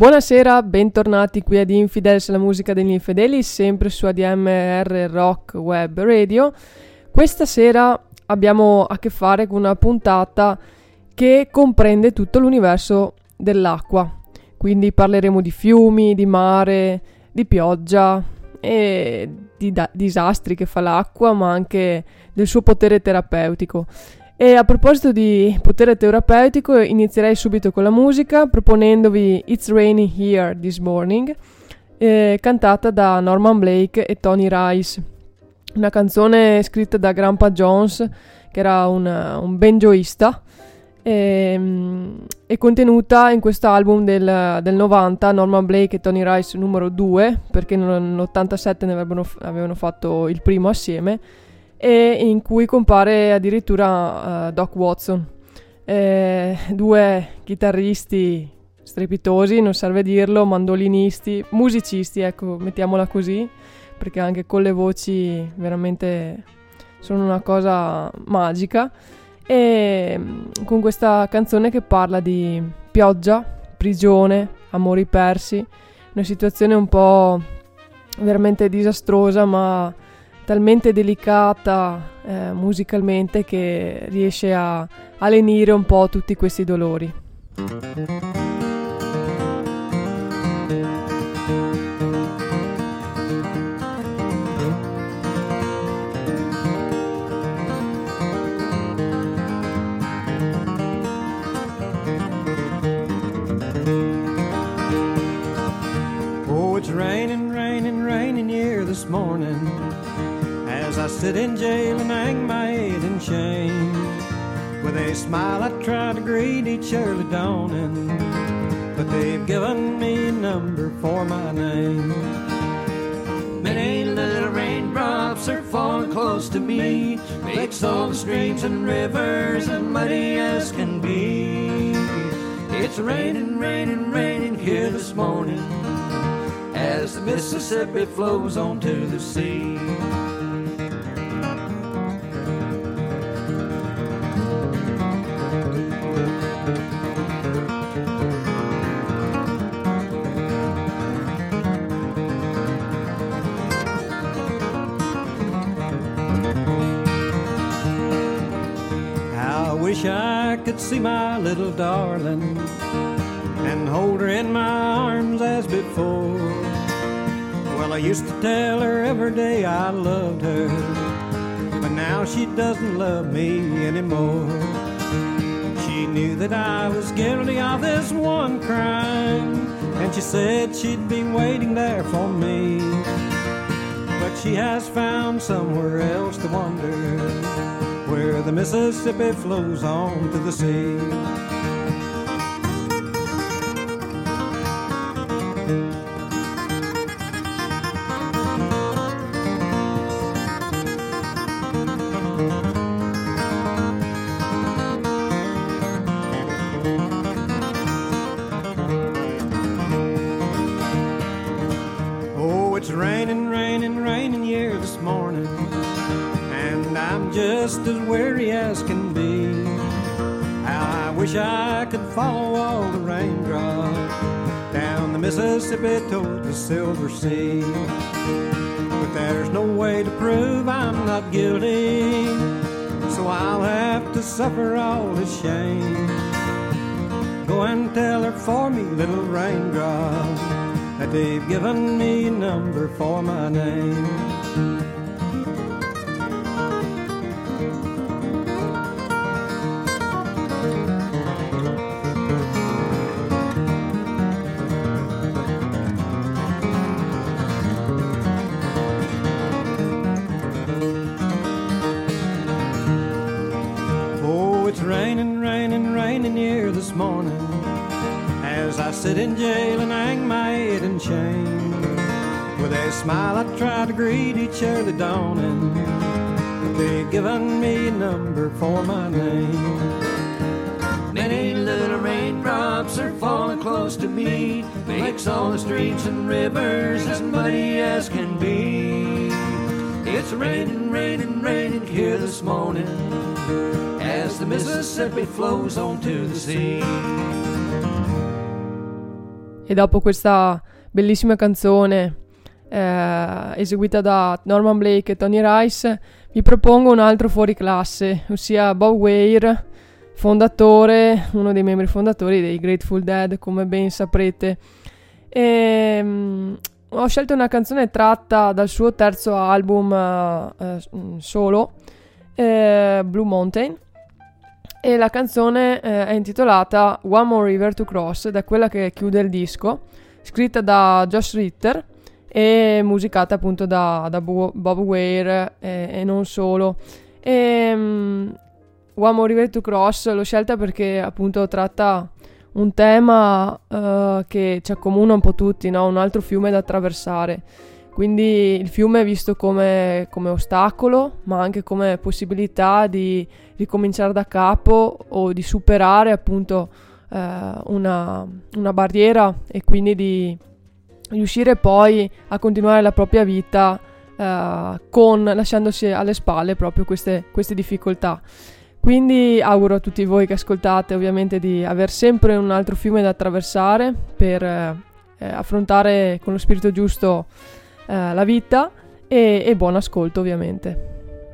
Buonasera, bentornati qui ad Infidels, la musica degli infedeli, sempre su ADMR Rock Web Radio. Questa sera abbiamo a che fare con una puntata che comprende tutto l'universo dell'acqua. Quindi parleremo di fiumi, di mare, di pioggia e di disastri che fa l'acqua, ma anche del suo potere terapeutico. E a proposito di potere terapeutico, inizierei subito con la musica proponendovi It's Raining Here This Morning, cantata da Norman Blake e Tony Rice. Una canzone scritta da Grandpa Jones, che era un banjoista, e contenuta in questo album del 90, Norman Blake e Tony Rice numero 2, perché nell'87 ne avevano fatto il primo assieme, e in cui compare addirittura Doc Watson, due chitarristi strepitosi, non serve dirlo, mandolinisti, musicisti, ecco, mettiamola così, perché anche con le voci veramente sono una cosa magica, e con questa canzone che parla di pioggia, prigione, amori persi, una situazione un po' veramente disastrosa, ma talmente delicata musicalmente che riesce a lenire un po' tutti questi dolori. Oh, it's raining, raining, raining here this morning, as I sit in jail and hang my head in shame. With a smile I try to greet each early dawning, but they've given me a number for my name. Many little raindrops are falling close to me, makes all the streams and rivers as muddy as can be. It's raining, raining, raining here this morning, as the Mississippi flows onto the sea. Wish I could see my little darling and hold her in my arms as before. Well, I used to tell her every day I loved her, but now she doesn't love me anymore. She knew that I was guilty of this one crime, and she said she'd be waiting there for me, but she has found somewhere else to wander, where the Mississippi flows on to the sea. Oh, it's raining, raining, raining here this morning, and I'm just as weary as can be. How I wish I could follow all the raindrops down the Mississippi towards the Silver Sea. But there's no way to prove I'm not guilty, so I'll have to suffer all the shame. Go and tell her for me, little raindrop, that they've given me a number for my name. This morning, as I sit in jail and hang my head in shame. With a smile I try to greet each early dawning, but they've given me a number for my name. Many little raindrops are falling close to me, makes all the streets and rivers as muddy as can be. It's raining, raining, raining here this morning, as the Mississippi flows onto the sea. e dopo questa bellissima canzone eseguita da Norman Blake e Tony Rice, vi propongo un altro fuori classe, ossia Bob Weir, fondatore, uno dei membri fondatori dei Grateful Dead, come ben saprete. Ho scelto una canzone tratta dal suo terzo album solo, Blue Mountain, e la canzone è intitolata One More River to Cross, ed è quella che chiude il disco, scritta da Josh Ritter e musicata appunto da Bob Weir e non solo. One More River to Cross l'ho scelta perché appunto tratta un tema che ci accomuna un po' tutti, no? Un altro fiume da attraversare, quindi il fiume è visto come ostacolo, ma anche come possibilità di ricominciare da capo o di superare appunto una barriera, e quindi di riuscire poi a continuare la propria vita lasciandosi alle spalle proprio queste difficoltà. Quindi auguro a tutti voi che ascoltate ovviamente di aver sempre un altro fiume da attraversare per affrontare con lo spirito giusto la vita, e buon ascolto ovviamente.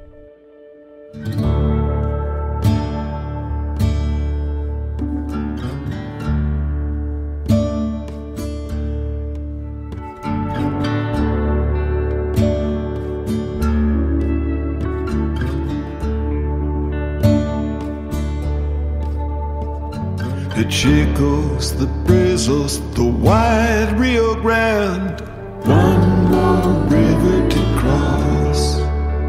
The Chicos, the Brazos, the wide Rio Grande, one more river to cross.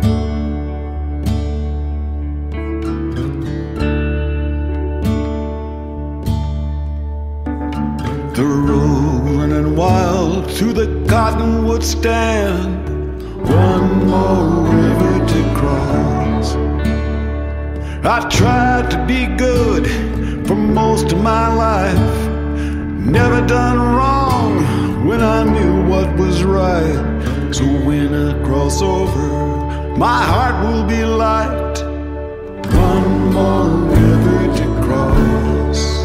The road running wild to the cottonwood stand, one more river to cross. I tried to be good for most of my life, never done wrong when I knew what was right. So when I cross over, my heart will be light. One more river to cross.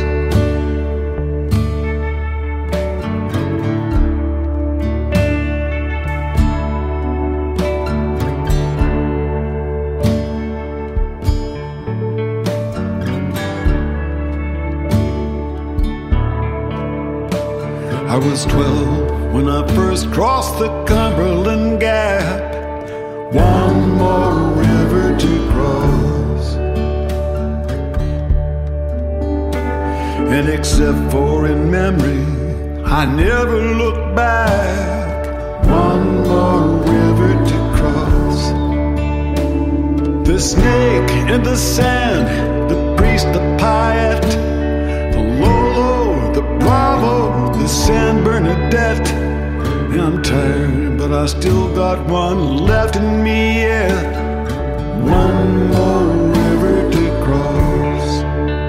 I was 12 when I first crossed the Cumberland Gap. One more river to cross. And except for in memory, I never look back. One more river to cross. The snake in the sand, the priest, the Piet, the Lolo, the Bravo, the San Bernadette. I'm tired, but I still got one left in me yet. One more river to cross.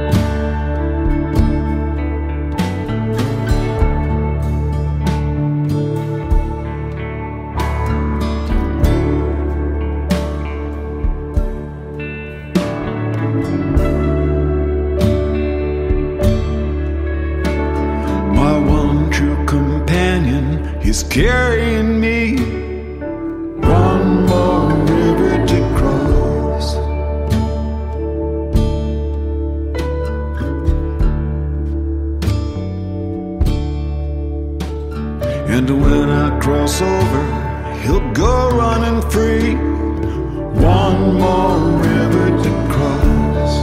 Is carrying me. One more river to cross. And when I cross over, he'll go running free. One more river to cross.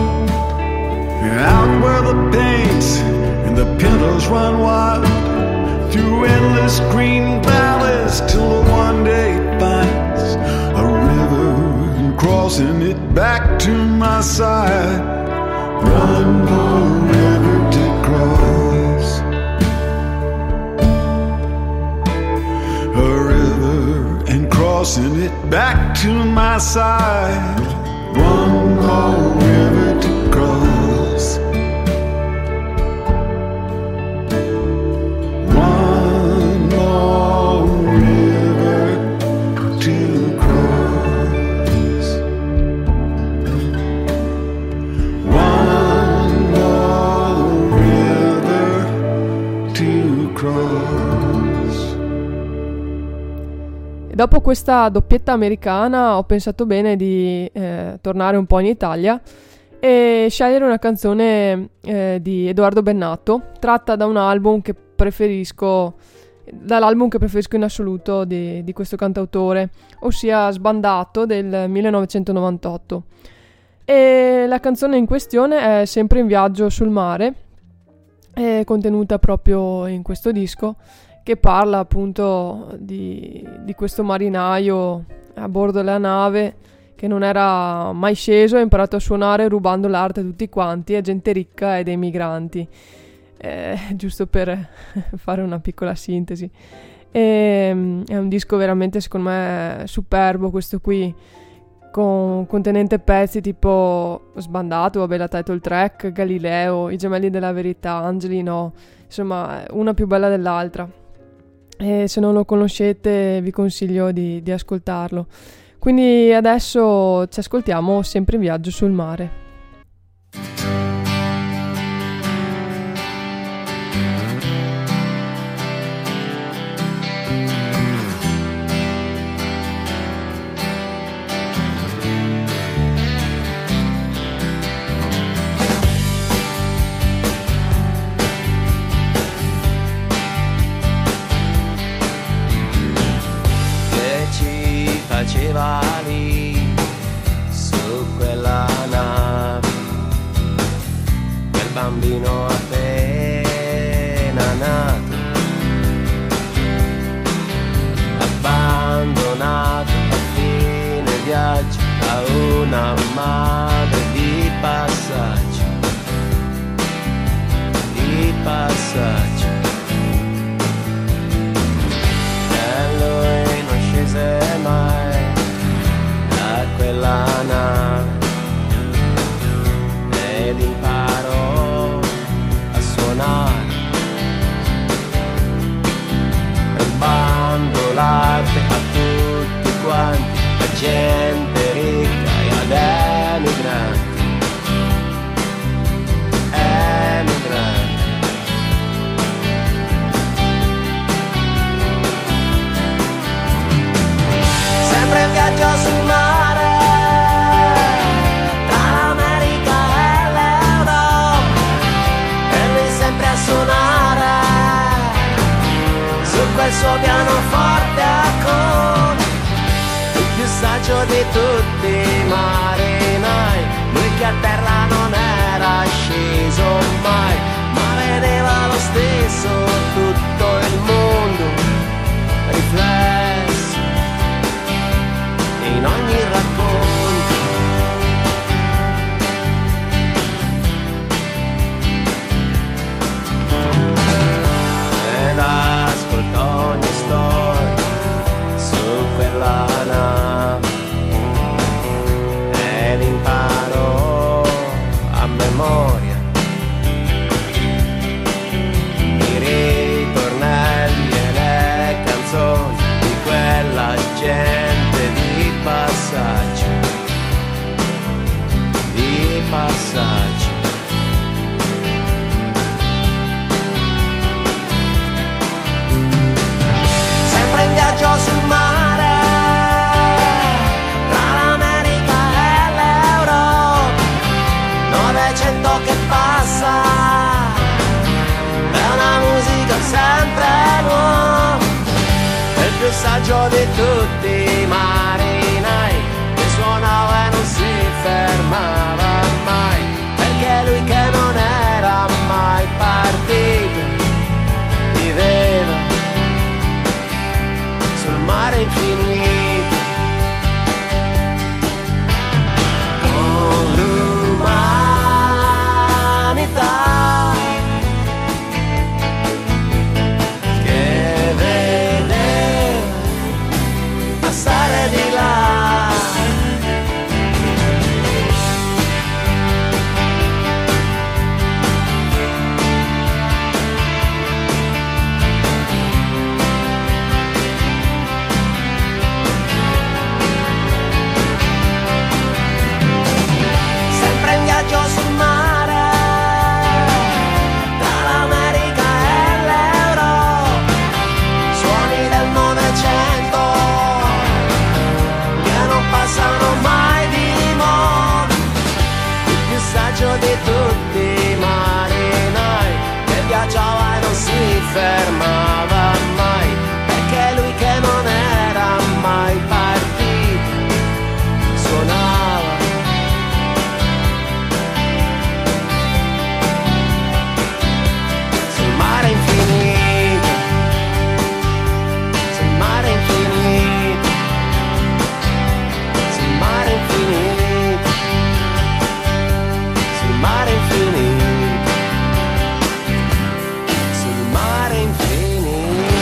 Out where the paints and the pintos run wild, through endless green valleys, till one day finds a river and crossing it back to my side. One more river to cross. A river and crossing it back to my side. One more river to cross. To E dopo questa doppietta americana ho pensato bene di tornare un po' in Italia e scegliere una canzone di Edoardo Bennato, tratta da un album che preferisco, dall'album che preferisco in assoluto di questo cantautore, ossia Sbandato del 1998. E la canzone in questione è Sempre in viaggio sul mare, è contenuta proprio in questo disco, che parla appunto di questo marinaio a bordo della nave che non era mai sceso e ha imparato a suonare rubando l'arte a tutti quanti, a gente ricca e dei migranti. Giusto per fare una piccola sintesi. È un disco veramente, secondo me, superbo questo qui, contenente pezzi tipo Sbandato, vabbè, la title track, Galileo, I gemelli della verità, Angeli no, insomma una più bella dell'altra, e se non lo conoscete vi consiglio di ascoltarlo. Quindi adesso ci ascoltiamo Sempre in viaggio sul mare. Faceva lì su quella nave quel bambino appena nato, abbandonato a fine viaggio a una madre di passaggio, e lui non scese mai quella nave ed imparò a suonare, rubando l'arte a tutti quanti, a gente ricca e ad emigranti. Sempre in viaggio sul mare, quel suo pianoforte a con il più saggio di tutti i marinai, lui che a terra non era sceso mai, ma vedeva lo stesso tutto il mondo riflesso in ogni racconto. Ed ascoltò ogni storia su quella nave ed imparò a memoria i ritornelli e le canzoni di quella gente di passaggio, di passaggio. In viaggio sul mare, tra l'America e l'Europa, 900 che passa, è una musica sempre nuova, è il più saggio di tutti i marinai, che suonava e non si fermava mai, perché lui che non era mai partito, viveva mare infinito, con l'umanità che vede passare di là. viaggiava e non si fermava mai, perché lui che non era mai partito suonava. Sul mare infinito, sul mare infinito, sul mare infinito, sul mare infinito, sul mare infinito.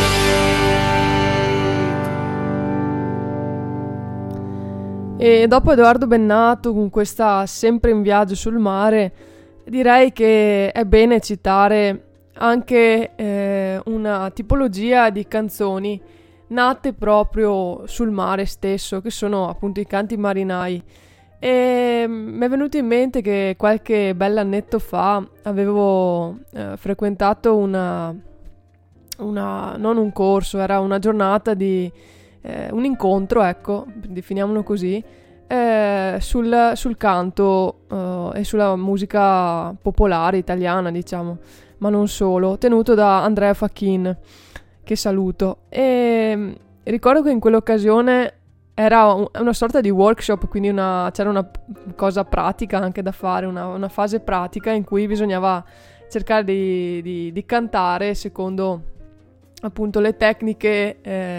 E dopo Edoardo Bennato con questa Sempre in viaggio sul mare, direi che è bene citare anche una tipologia di canzoni nate proprio sul mare stesso, che sono appunto i canti marinai. E mi è venuto in mente che qualche bell'annetto fa avevo frequentato non un corso, era una giornata di un incontro, ecco, definiamolo così, sul canto e sulla musica popolare italiana, diciamo, ma non solo, tenuto da Andrea Facchin, che saluto. E ricordo che in quell'occasione era una sorta di workshop, quindi c'era una cosa pratica anche da fare, una fase pratica in cui bisognava cercare di cantare secondo appunto le tecniche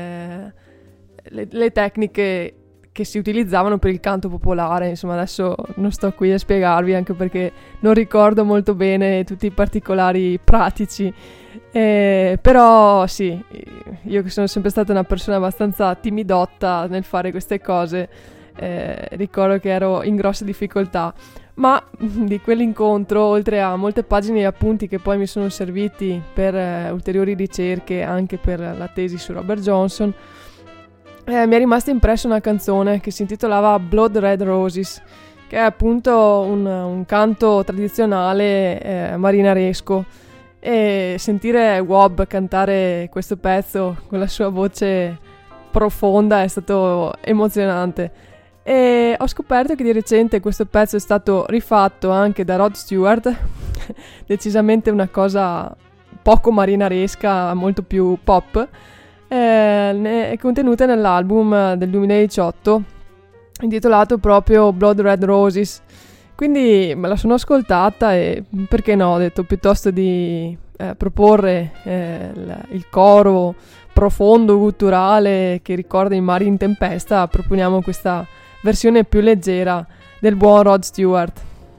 che si utilizzavano per il canto popolare. Insomma, adesso non sto qui a spiegarvi, anche perché non ricordo molto bene tutti i particolari pratici, però sì, io che sono sempre stata una persona abbastanza timidotta nel fare queste cose, ricordo che ero in grosse difficoltà. Ma di quell'incontro, oltre a molte pagine di appunti che poi mi sono serviti per ulteriori ricerche anche per la tesi su Robert Johnson, mi è rimasta impressa una canzone che si intitolava Blood Red Roses, che è appunto un canto tradizionale marinaresco, e sentire Wob cantare questo pezzo con la sua voce profonda è stato emozionante. E ho scoperto che di recente questo pezzo è stato rifatto anche da Rod Stewart, decisamente una cosa poco marinaresca, molto più pop, è contenuta nell'album del 2018 intitolato proprio Blood Red Roses. Quindi me la sono ascoltata e perché no, ho detto, piuttosto di proporre il coro profondo, gutturale che ricorda i mari in tempesta, proponiamo questa versione più leggera del buon Rod Stewart.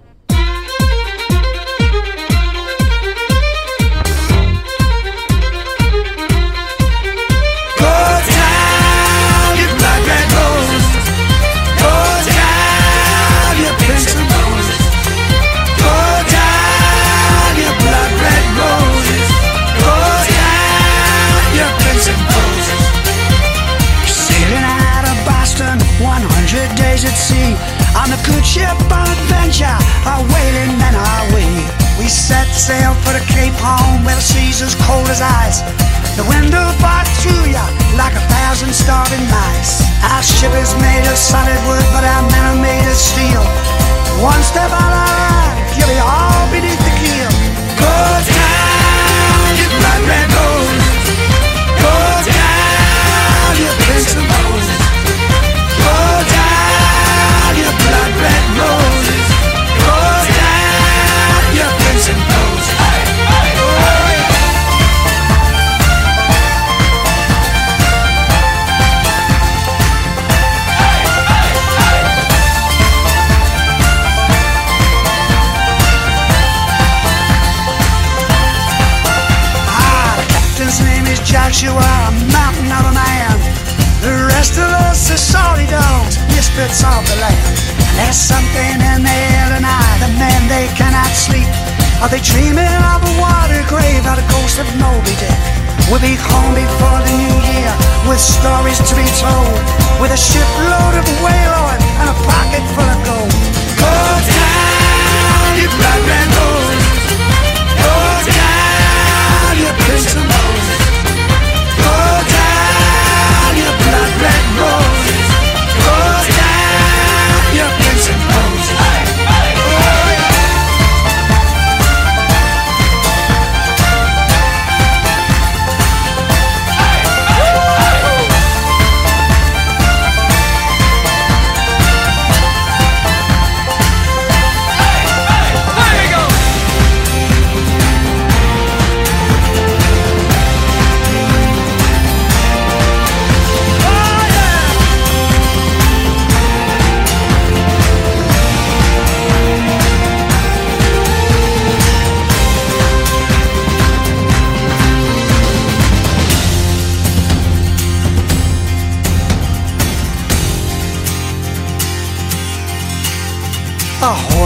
Days at sea, on a good ship on adventure, our whaling men are we. We set sail for the Cape Horn, where the sea's as cold as ice. The wind will bark through ya like 1,000 starving mice. Our ship is made of solid wood, but our men are made of steel. One step out of line, you'll be all beneath the keel. Go down, you blood red rose. Go down, you prince of roses. Go down, your blood red roses. Go down, your prince and rose. The captain's name is Joshua, a mountain of a man. The rest of us are salty dogs, misfits of the land. And there's something in the air tonight, the men they cannot sleep. Are they dreaming of a water grave, or the ghost of Moby Dick? We'll be home before the new year, with stories to be told, with a shipload of whale oil and a pocket full of gold. Go down, you blood red rose. Go down, you prince of roses. Go down, your blood red roses. Go down, your prince of roses. Oh, yeah.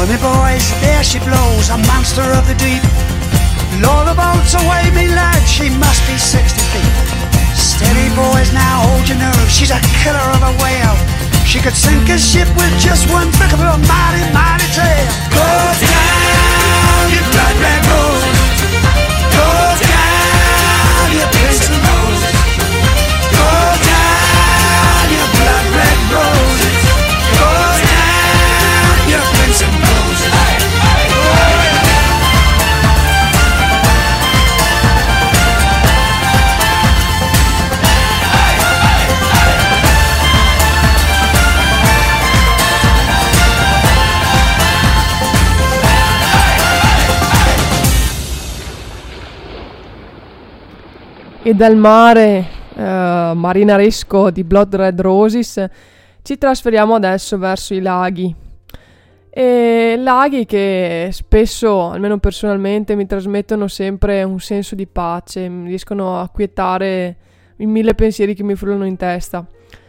me boys, there she blows, a monster of the deep. Lower the boats away, me lad, she must be 60 feet. Steady boys, now hold your nerve, she's a killer of a whale. She could sink a ship with just one flick of her mighty, mighty tail. Go down, you blood red rose. Go down, you prince of roses. Go down, you blood red roses. Go down, you prince of roses. E dal mare marinaresco di Blood Red Roses ci trasferiamo adesso verso i laghi. E laghi che spesso, almeno personalmente, mi trasmettono sempre un senso di pace, mi riescono a quietare i 1000 pensieri che mi frullano in testa.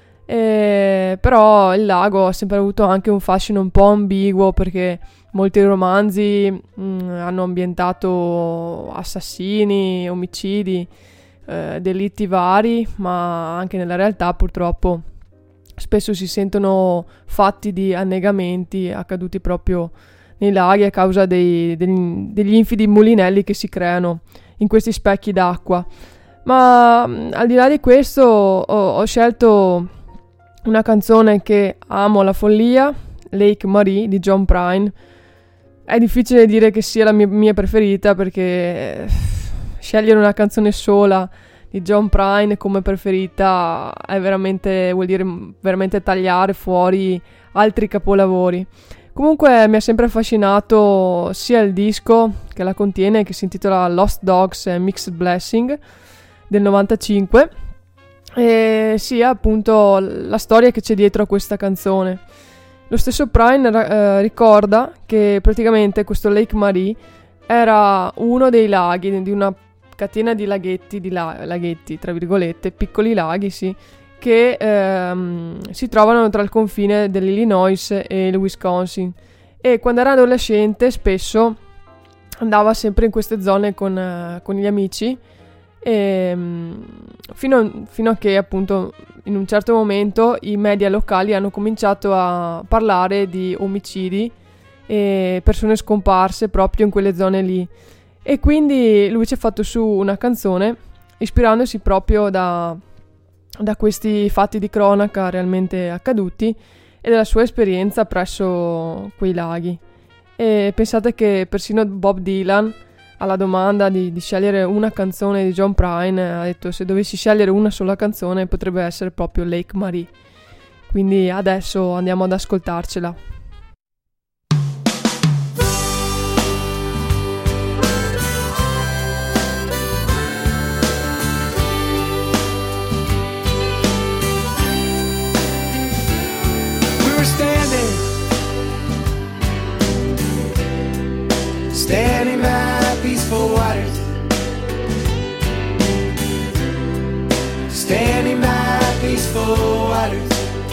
Però il lago ha sempre avuto anche un fascino un po' ambiguo, perché molti romanzi hanno ambientato assassini, omicidi, delitti vari, ma anche nella realtà purtroppo spesso si sentono fatti di annegamenti accaduti proprio nei laghi a causa degli infidi mulinelli che si creano in questi specchi d'acqua. Ma al di là di questo ho scelto una canzone che amo alla follia, Lake Marie di John Prine. È difficile dire che sia la mia preferita, perché scegliere una canzone sola di John Prine come preferita vuol dire veramente tagliare fuori altri capolavori. Comunque mi ha sempre affascinato sia il disco che la contiene, che si intitola Lost Dogs and Mixed Blessing del 95, e sia appunto la storia che c'è dietro a questa canzone. Lo stesso Prine ricorda che praticamente questo Lake Marie era uno dei laghi di una catena di laghetti, tra virgolette, piccoli laghi, sì, che si trovano tra il confine dell'Illinois e il Wisconsin. E quando era adolescente spesso andava sempre in queste zone con gli amici, fino a che appunto in un certo momento i media locali hanno cominciato a parlare di omicidi e persone scomparse proprio in quelle zone lì. E quindi lui ci ha fatto su una canzone ispirandosi proprio da questi fatti di cronaca realmente accaduti e della sua esperienza presso quei laghi. E pensate che persino Bob Dylan, alla domanda di scegliere una canzone di John Prine, ha detto: se dovessi scegliere una sola canzone potrebbe essere proprio Lake Marie. Quindi adesso andiamo ad ascoltarcela. Standing by peaceful waters, standing by peaceful waters.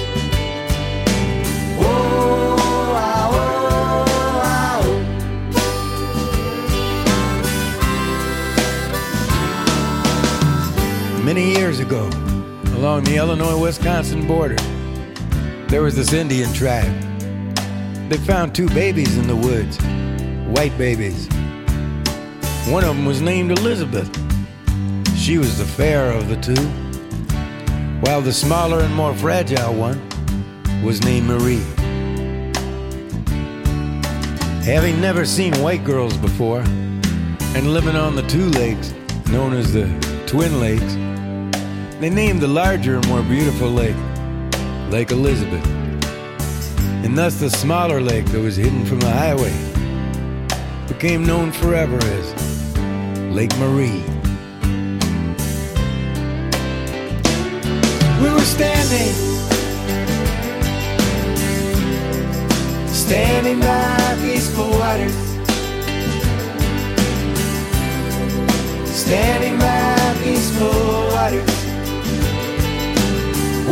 Oh, ah, oh, ah, oh. Many years ago, along the Illinois-Wisconsin border, there was this Indian tribe. They found 2 babies in the woods. White babies. One of them was named Elizabeth. She was the fairer of the 2, while the smaller and more fragile one was named Marie. Having never seen white girls before, and living on the 2 lakes known as the Twin Lakes, they named the larger and more beautiful lake Lake Elizabeth, and thus the smaller lake that was hidden from the highway became known forever as Lake Marie. We were standing by peaceful waters, standing by peaceful waters.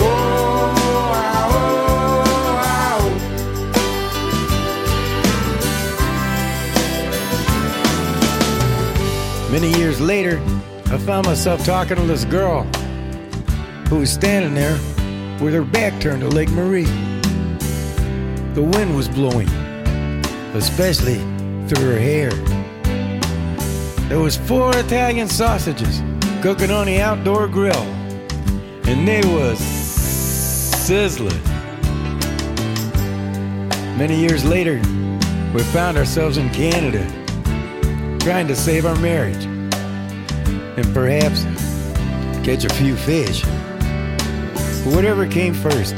Whoa, ah, oh, ah, oh. years later, I found myself talking to this girl who was standing there with her back turned to Lake Marie. The wind was blowing, especially through her hair. There was 4 Italian sausages cooking on the outdoor grill, and they was sizzling. Many years later, we found ourselves in Canada, trying to save our marriage, and perhaps catch a few fish. Whatever came first.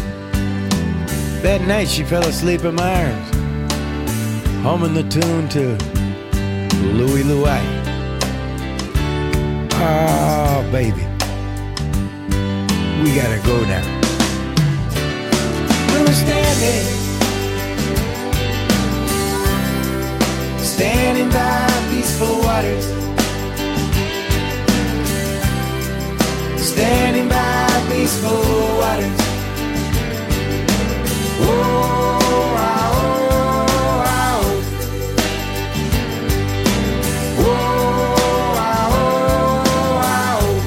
That night she fell asleep in my arms, humming the tune to Louie Louie. Oh, baby, we gotta go now. We were standing by peaceful waters, standing by peaceful waters. Oh, ah, oh, ah, oh. Oh, ah, oh, ah, oh.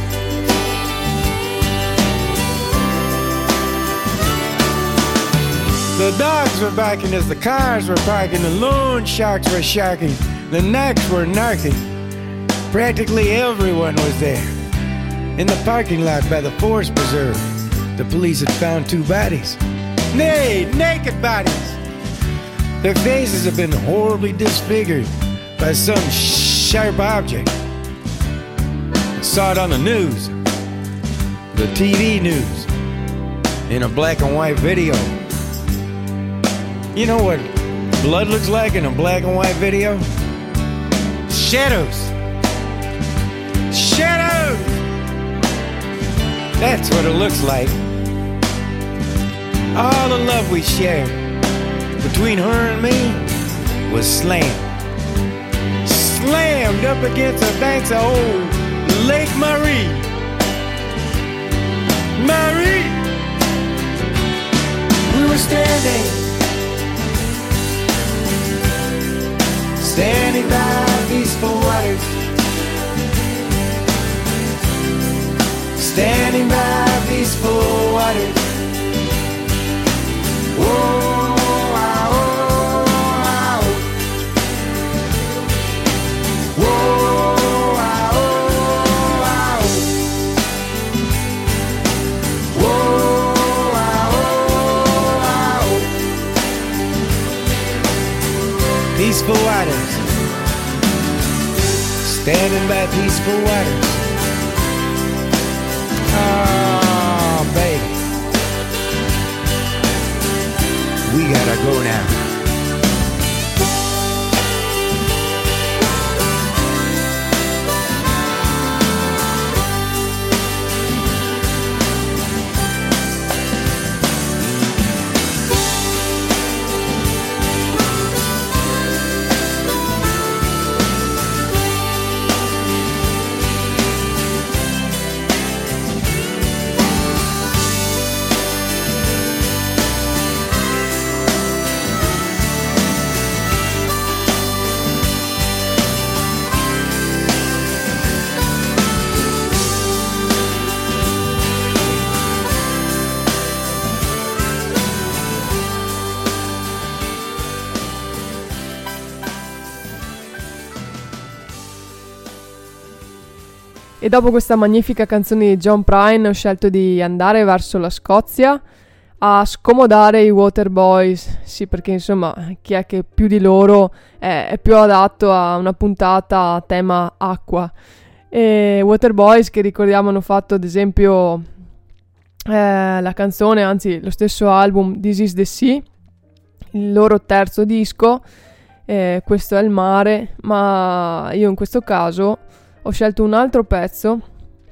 The dogs were barking as the cars were parking, the loan sharks were sharking, the narcs were narking. Practically everyone was there. In the parking lot by the Forest Preserve, the police had found 2 bodies. Nay, naked bodies. Their faces had been horribly disfigured by some sharp object. I saw it on the news, the TV news, in a black and white video. You know what blood looks like in a black and white video? Shadows. Shadows! That's what it looks like. All the love we shared between her and me was slammed up against the banks of old Lake Marie. Marie! We were standing by peaceful waters, standing by peaceful waters. Oh, ah, oh, ah, oh. Oh, ah, oh, ah, oh. Oh, ah, oh, ah, oh. Peaceful waters, standing by peaceful waters. Oh, baby, we gotta go now. E dopo questa magnifica canzone di John Prine ho scelto di andare verso la Scozia a scomodare i Waterboys. Sì, perché insomma chi è che più di loro è più adatto a una puntata a tema acqua. E Waterboys, che ricordiamo hanno fatto ad esempio la canzone, anzi lo stesso album This is the Sea, il loro terzo disco, questo è il mare, ma io in questo caso ho scelto un altro pezzo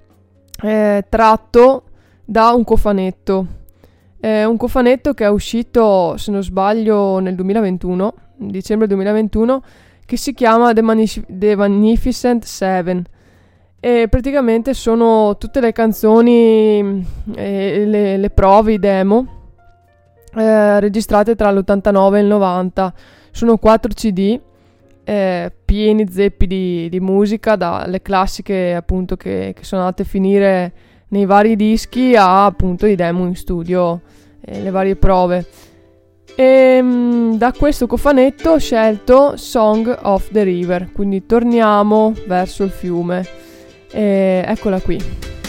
tratto da un cofanetto. Un cofanetto che è uscito, se non sbaglio, nel 2021, dicembre 2021, che si chiama The Magnificent Seven. E praticamente sono tutte le canzoni, le prove, i demo registrate tra l'89 e il 90. Sono 4 CD. pieni zeppi di musica, dalle classiche appunto che sono andate a finire nei vari dischi a appunto i demo in studio, le varie prove. E da questo cofanetto ho scelto Song of the River, quindi torniamo verso il fiume, eccola qui.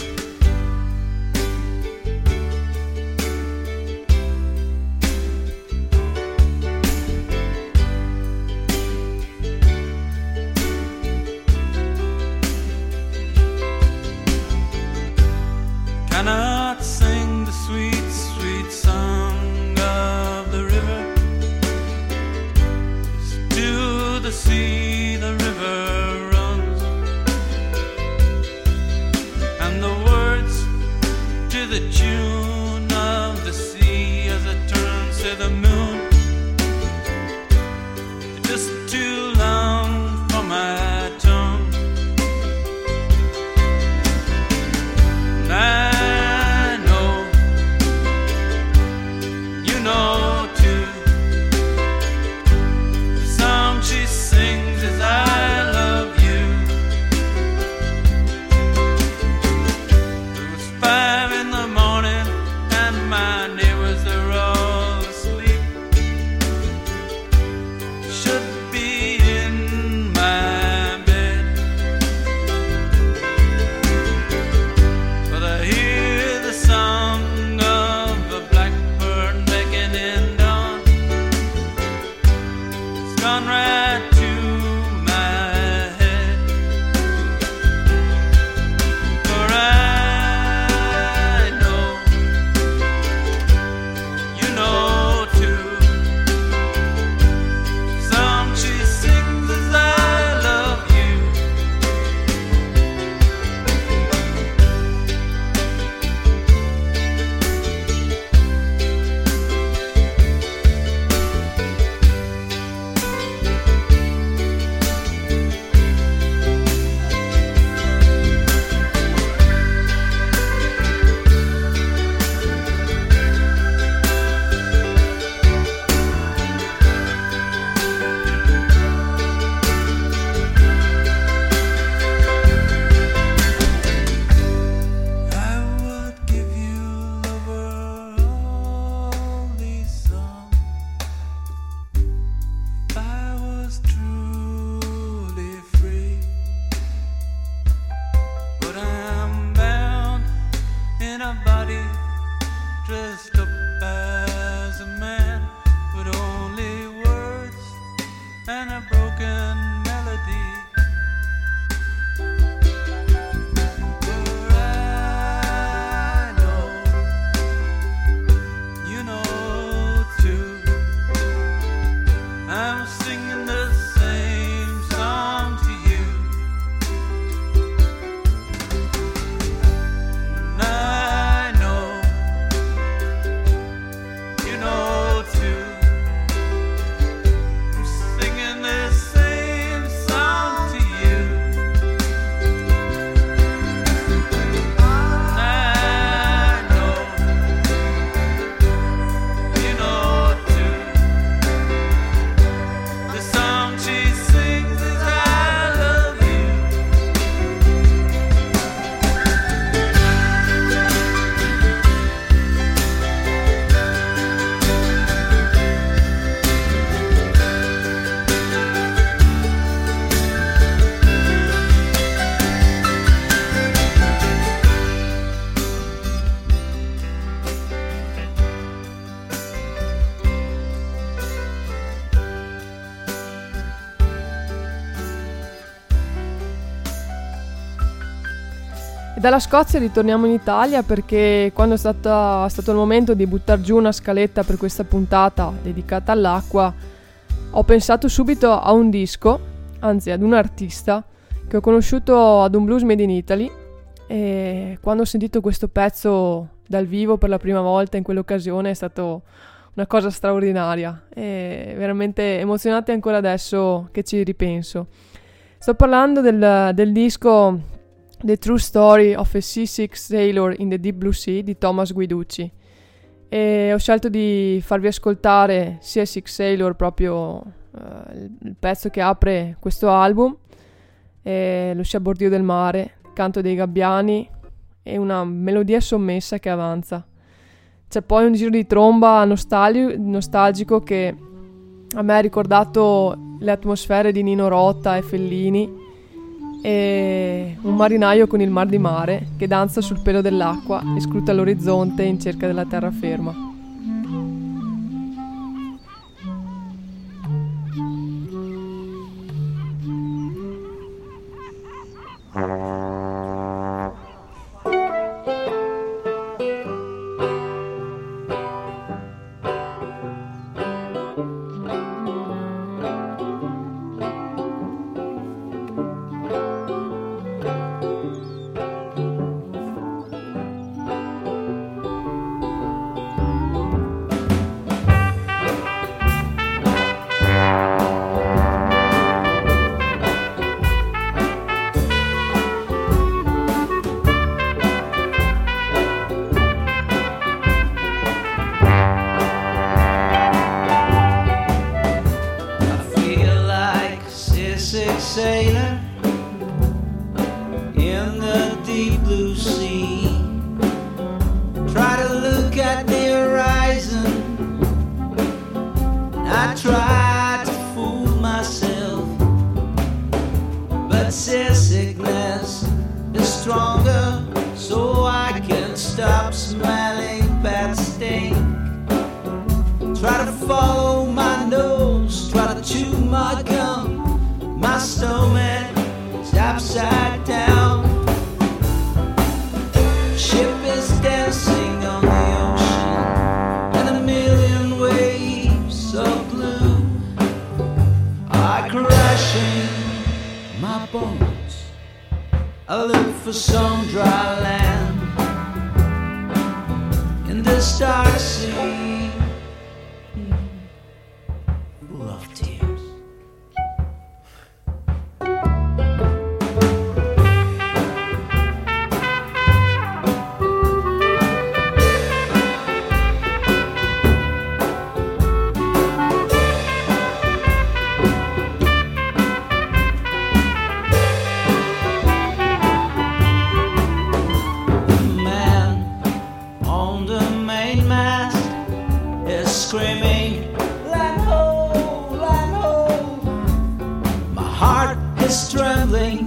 Cannot sing the sweet, sweet song of the river. To the sea the river runs, and the words to the tune of the sea as it turns to the moon, just too long for my tongue. I know, you know too. The song she sings is I love you. It was 5 in the morning and my neighbors, they're all asleep. Should be in my bed, but I hear the song of a blackbird making in dawn. It's gone right to my head, for I know, you know too. The song she sings is I love you. I would give you, lover, all these songs if I was truly free. But I'm bound in a body dressed up as a man, with only words and a broken melody. For I know, you know too. I'm singing the same song to you. And I know, you know too. I'm singing the same song to you. And I know, you know too. The song she sings is I love you. E dalla Scozia ritorniamo in Italia, perché quando è stato il momento di buttare giù una scaletta per questa puntata dedicata all'acqua, ho pensato subito a un disco, anzi ad un artista che ho conosciuto ad un Blues Made in Italy, e quando ho sentito questo pezzo dal vivo per la prima volta in quell'occasione è stato una cosa straordinaria e veramente emozionante ancora adesso che ci ripenso. Sto parlando del disco The True Story of a Seasick Sailor in the Deep Blue Sea di Thomas Guiducci, e ho scelto di farvi ascoltare Seasick Sailor proprio il pezzo che apre questo album è lo sciabordio del mare, il canto dei gabbiani e una melodia sommessa che avanza. C'è poi un giro di tromba nostalgico che a me ha ricordato le atmosfere di Nino Rota e Fellini, e un marinaio con il mar di mare che danza sul pelo dell'acqua e scruta l'orizzonte in cerca della terraferma. Sailor in the deep blue sea, try to look at the horizon. I try to fool myself, but seasickness is stronger, so I can't stop smelling bad stink. Try to follow my nose, try to chew my gum. My stomach is upside down. Ship is dancing on the ocean, and a million waves of blue are crashing my bones. I look for some dry land in this dark sea full of tears. Screaming, land ho, land ho. My heart is trembling,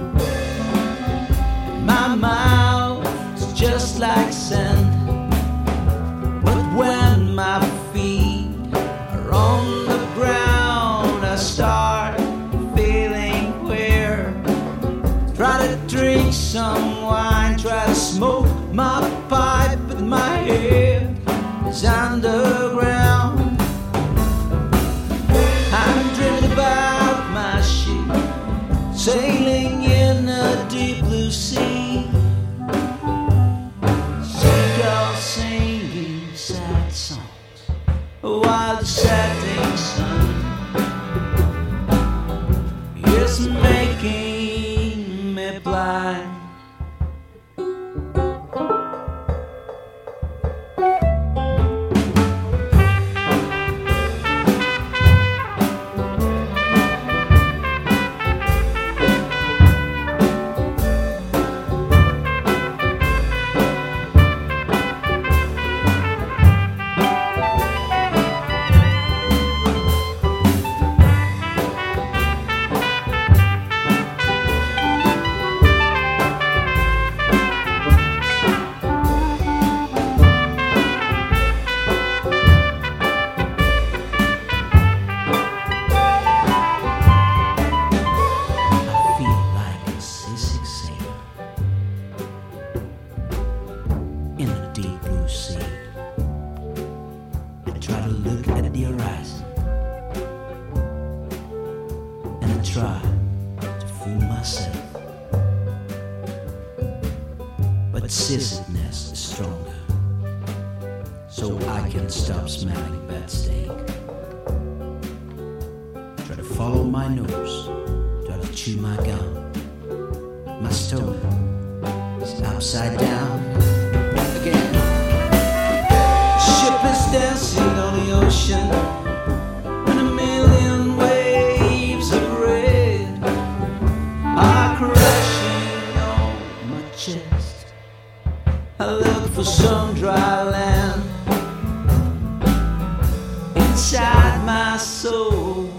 my mouth is just like sand. But when my feet are on the ground, I start feeling queer. Try to drink some wine, try to smoke my pipe, but my head is underground. I'm dreaming about my ship sailing in a deep blue sea. Seagulls singing sad songs while the setting sun is making me blind. Try to fool myself, but seasickness is stronger, so I can stop smelling bad steak. Try to follow my nose, try to chew my gum. My stomach is upside down again. The ship is dancing on the ocean, and a million chest. I look for some dry land inside my soul.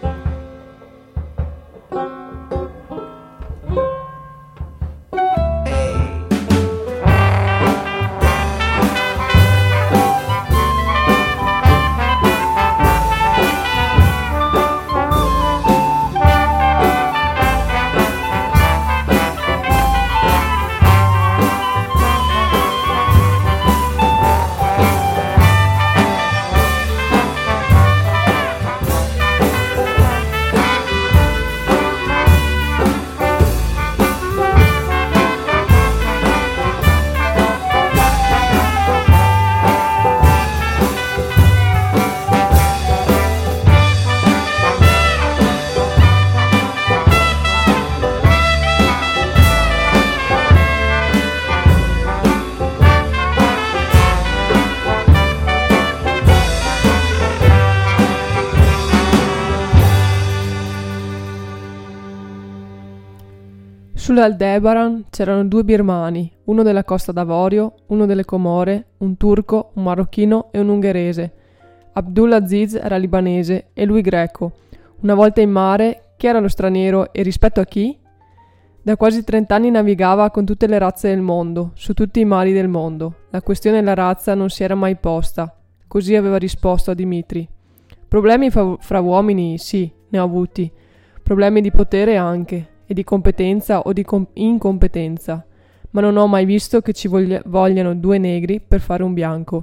Sull'Aldebaran c'erano 2 birmani, uno della Costa d'Avorio, uno delle Comore, un turco, un marocchino e un ungherese. Abdulaziz era libanese e lui greco. Una volta in mare, chi era lo straniero e rispetto a chi? Da quasi 30 anni navigava con tutte le razze del mondo, su tutti i mari del mondo. La questione della razza non si era mai posta. Così aveva risposto a Dimitri. Problemi fra uomini, sì, ne ho avuti. Problemi di potere anche. E di competenza o di incompetenza, ma non ho mai visto che ci vogliano 2 negri per fare un bianco.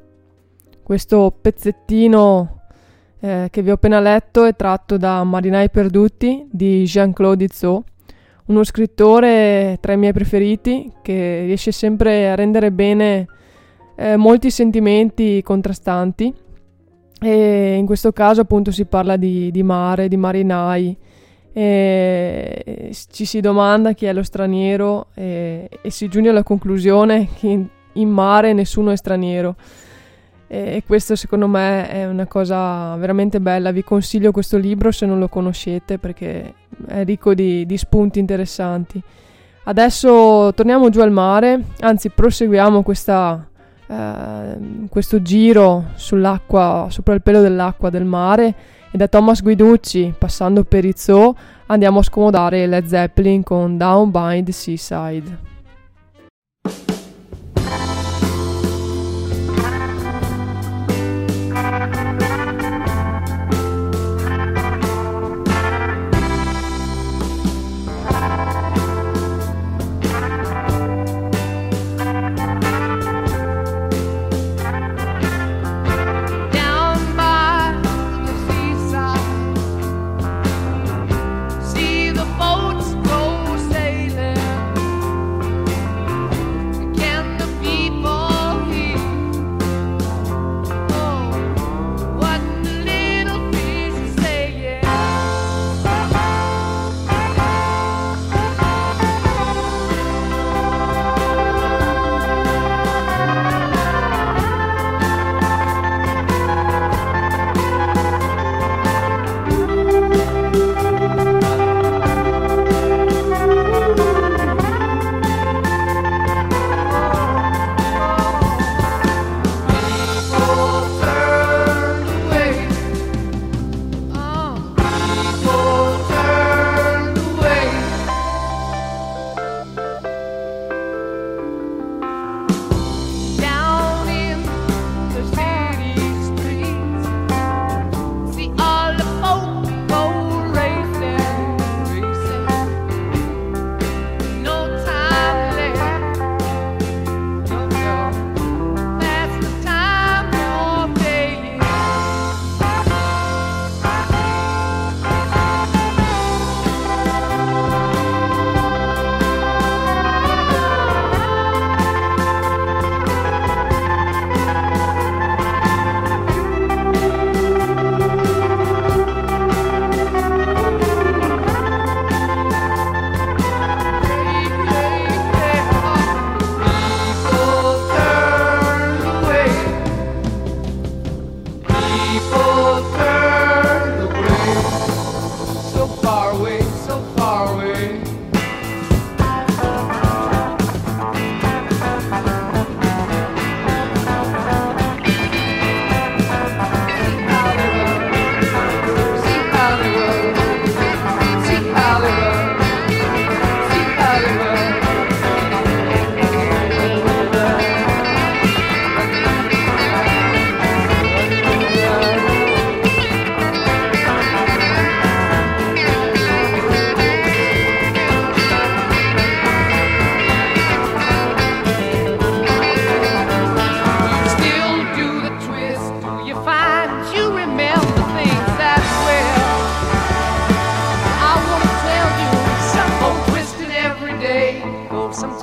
Questo pezzettino che vi ho appena letto è tratto da Marinai perduti di Jean-Claude Izzot, uno scrittore tra i miei preferiti che riesce sempre a rendere bene molti sentimenti contrastanti, e in questo caso appunto si parla di mare, di marinai. Ci si domanda chi è lo straniero e si giunge alla conclusione che in mare nessuno è straniero, e questo secondo me è una cosa veramente bella. Vi consiglio questo libro se non lo conoscete, perché è ricco di spunti interessanti. Adesso torniamo giù al mare, anzi proseguiamo questo giro sull'acqua, sopra il pelo dell'acqua del mare. E da Thomas Guiducci, passando per Izzot, andiamo a scomodare Led Zeppelin con Down by the Seaside. See the boats go sailing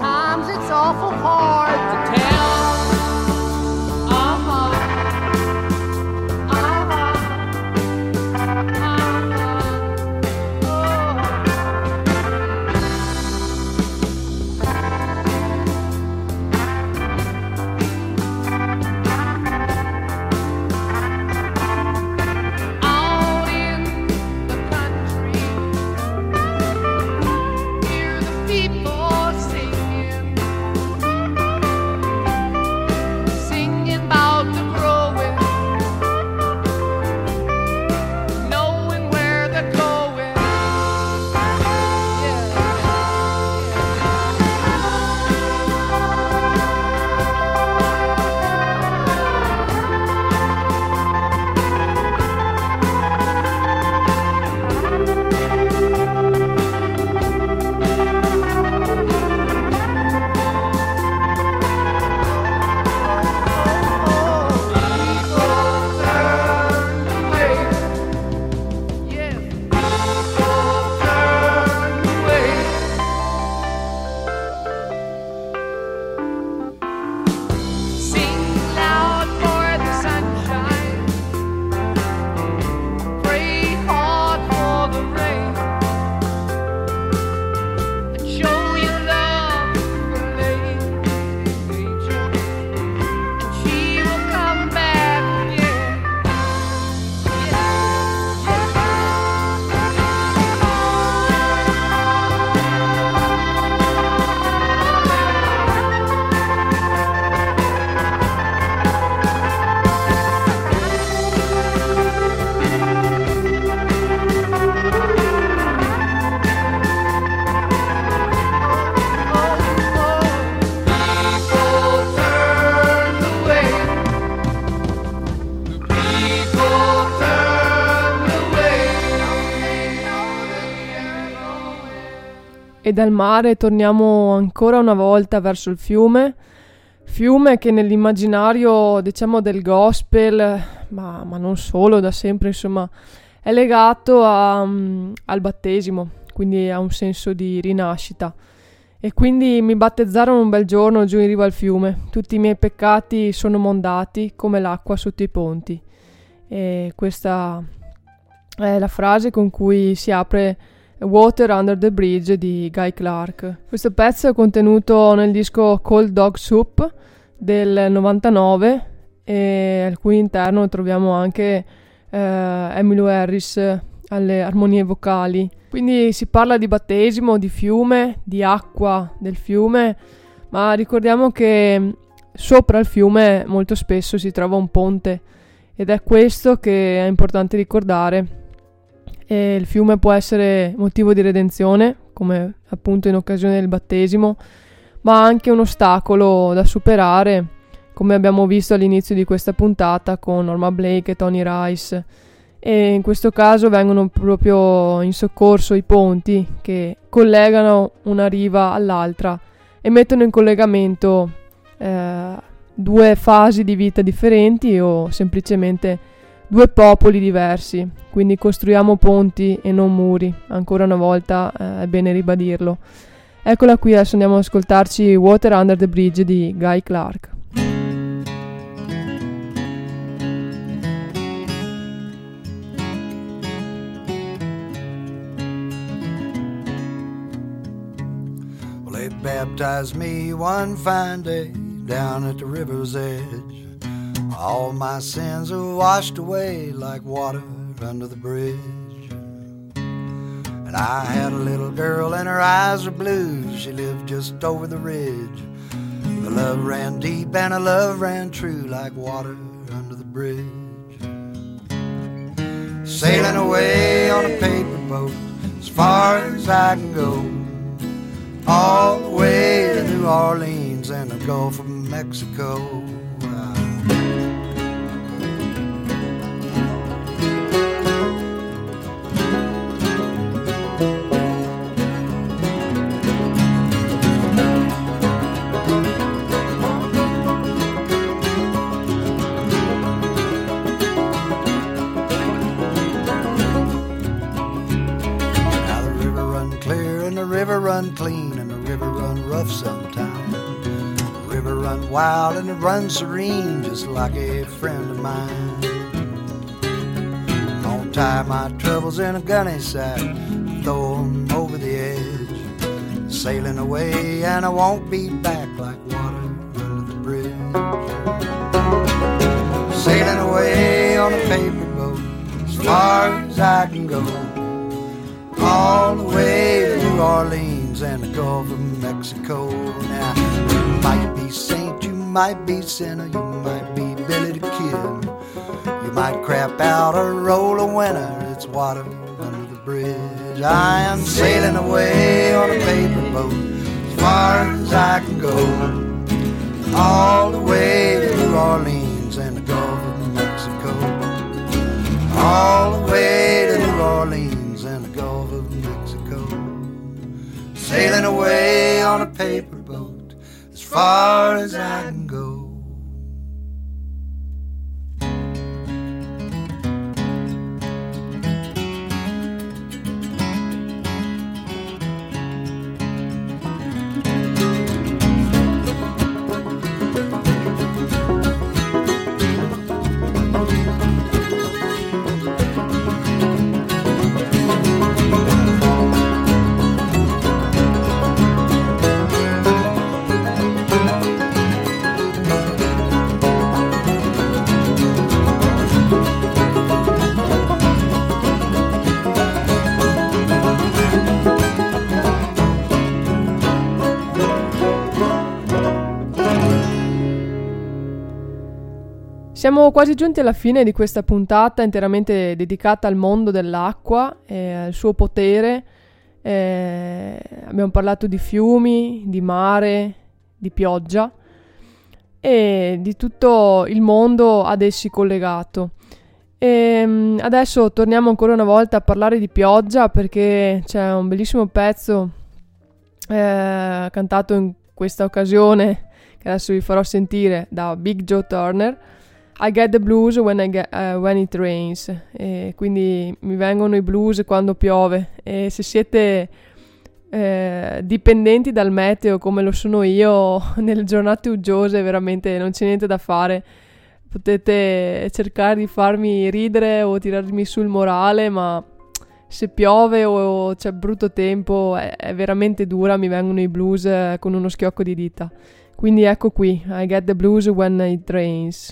Sometimes it's awful hard to tell. E dal mare torniamo ancora una volta verso il fiume che nell'immaginario, diciamo, del gospel, ma non solo, da sempre, insomma, è legato al battesimo, quindi ha un senso di rinascita. E quindi mi battezzarono un bel giorno giù in riva al fiume, tutti i miei peccati sono mondati come l'acqua sotto i ponti. E questa è la frase con cui si apre Water Under the Bridge di Guy Clark. Questo pezzo è contenuto nel disco Cold Dog Soup del 99 e al cui interno troviamo anche Emmylou Harris alle armonie vocali. Quindi si parla di battesimo, di fiume, di acqua del fiume, ma ricordiamo che sopra il fiume molto spesso si trova un ponte ed è questo che è importante ricordare. E il fiume può essere motivo di redenzione, come appunto in occasione del battesimo, ma anche un ostacolo da superare, come abbiamo visto all'inizio di questa puntata con Norma Blake e Tony Rice. E in questo caso vengono proprio in soccorso i ponti che collegano una riva all'altra e mettono in collegamento due fasi di vita differenti o semplicemente due popoli diversi, quindi costruiamo ponti e non muri, ancora una volta è bene ribadirlo. Eccola qui, adesso andiamo ad ascoltarci Water Under the Bridge di Guy Clark. Well, they baptized me one fine day down at the river's edge. All my sins are washed away like water under the bridge. And I had a little girl and her eyes were blue. She lived just over the ridge. The love ran deep and the love ran true like water under the bridge. Sailing away on a paper boat as far as I can go, all the way to New Orleans and the Gulf of Mexico. River run clean and the river run rough sometimes. run wild and it runs serene, just like a friend of mine. Gonna tie my troubles in a gunny sack, throw 'em over the edge, sailing away and I won't be back like water under the bridge. Sailing away on a paper boat as far as I can go, all the way to New Orleans and the Gulf of Mexico. Now, you might be saint, you might be sinner, you might be Billy the Kid, you might crap out or roll a winner, it's water under the bridge. I am sailing away on a paper boat as far as I can go, all the way to New Orleans and the Gulf of Mexico, all the way to New Orleans and the Gulf of Mexico. Sailing away on a paper boat as far as I can go. Siamo quasi giunti alla fine di questa puntata interamente dedicata al mondo dell'acqua e al suo potere. Abbiamo parlato di fiumi, di mare, di pioggia e di tutto il mondo ad essi collegato. E adesso torniamo ancora una volta a parlare di pioggia, perché c'è un bellissimo pezzo cantato in questa occasione che adesso vi farò sentire da Big Joe Turner. I get the blues when it rains, e quindi mi vengono i blues quando piove. E se siete dipendenti dal meteo come lo sono io, nelle giornate uggiose veramente non c'è niente da fare, potete cercare di farmi ridere o tirarmi sul morale, ma se piove o c'è brutto tempo è veramente dura, mi vengono i blues con uno schiocco di dita. Quindi ecco qui, I get the blues when it rains.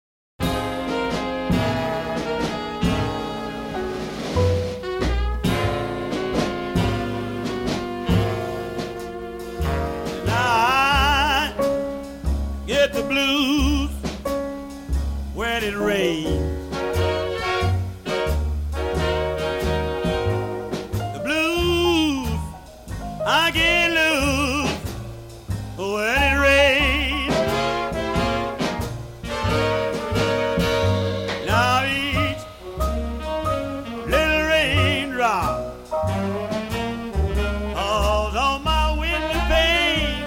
Get the blues when it rains. The blues I get loose when it rains. Now each little raindrop falls on my window pane,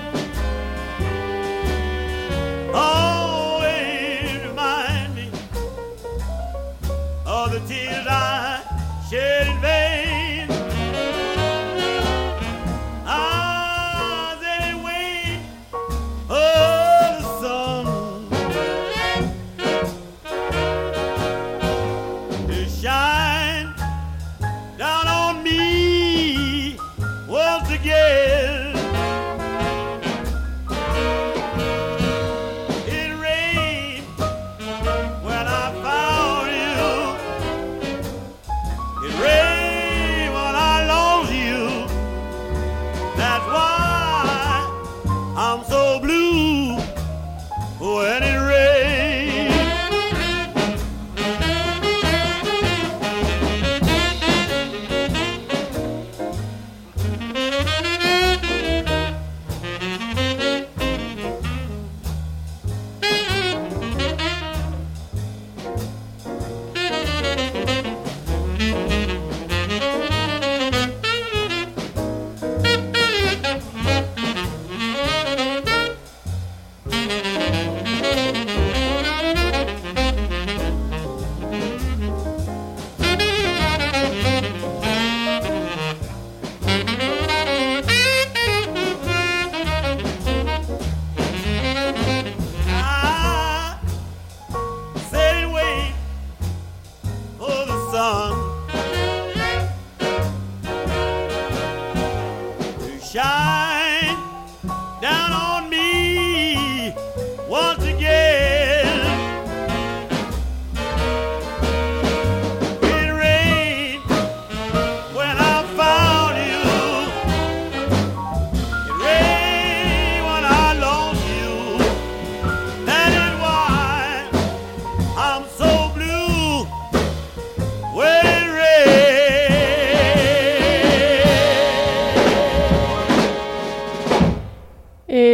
always remind me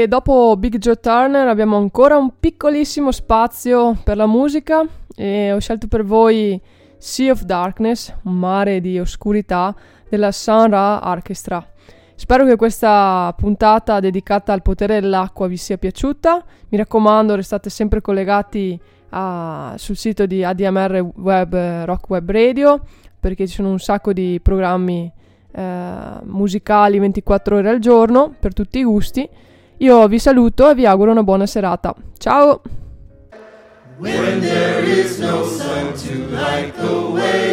E dopo Big Joe Turner abbiamo ancora un piccolissimo spazio per la musica e ho scelto per voi Sea of Darkness, un mare di oscurità, della Sun Ra Orchestra. Spero che questa puntata dedicata al potere dell'acqua vi sia piaciuta. Mi raccomando, restate sempre collegati sul sito di ADMR Web Rock Web Radio, perché ci sono un sacco di programmi musicali 24 ore al giorno per tutti i gusti. Io vi saluto e vi auguro una buona serata. Ciao! When there is no sun to light the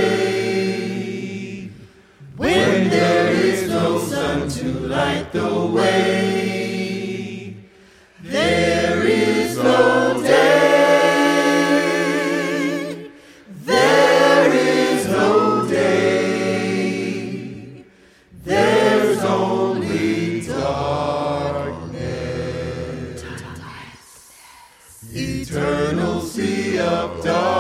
way, when there is no sun to light the way, there is no day, there is no day, there's only darkness, eternal sea of darkness.